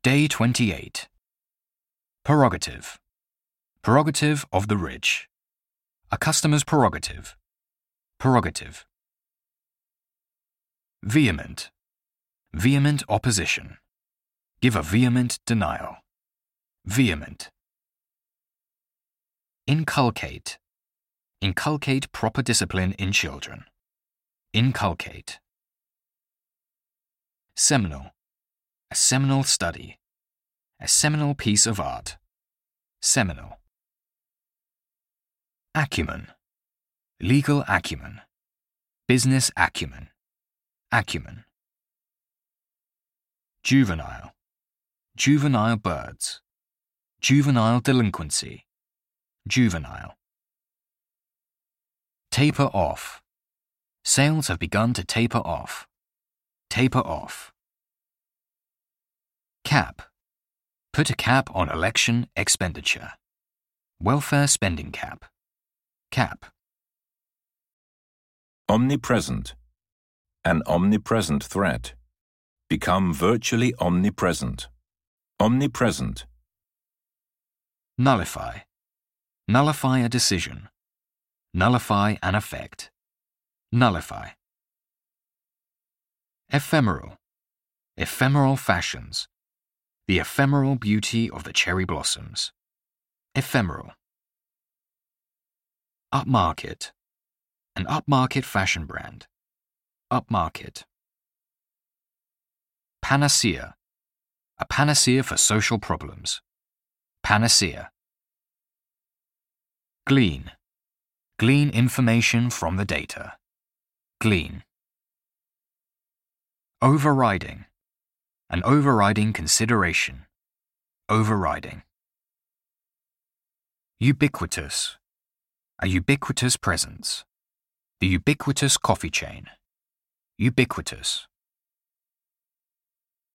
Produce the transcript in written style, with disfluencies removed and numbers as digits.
Day 28. Prerogative. Prerogative of the rich. A customer's prerogative. Prerogative. Vehement. Vehement opposition. Give a vehement denial. Vehement. Inculcate. Inculcate proper discipline in children. Inculcate. Seminal. A seminal study. A seminal piece of art. Seminal. Acumen. Legal acumen. Business acumen. Acumen. Juvenile. Juvenile birds. Juvenile delinquency. Juvenile. Taper off. Sales have begun to taper off. Taper off. Cap. Put a cap on election expenditure. Welfare spending cap. Cap. Omnipresent. An omnipresent threat. Become virtually omnipresent. Omnipresent. Nullify. Nullify a decision. Nullify an effect. Nullify. Ephemeral. Ephemeral fashions. The ephemeral beauty of the cherry blossoms. Ephemeral. Upmarket. An upmarket fashion brand. Upmarket. Panacea. A panacea for social problems. Panacea. Glean. Glean information from the data. Glean. Overriding. An overriding consideration. Overriding. Ubiquitous. A ubiquitous presence. The ubiquitous coffee chain. Ubiquitous.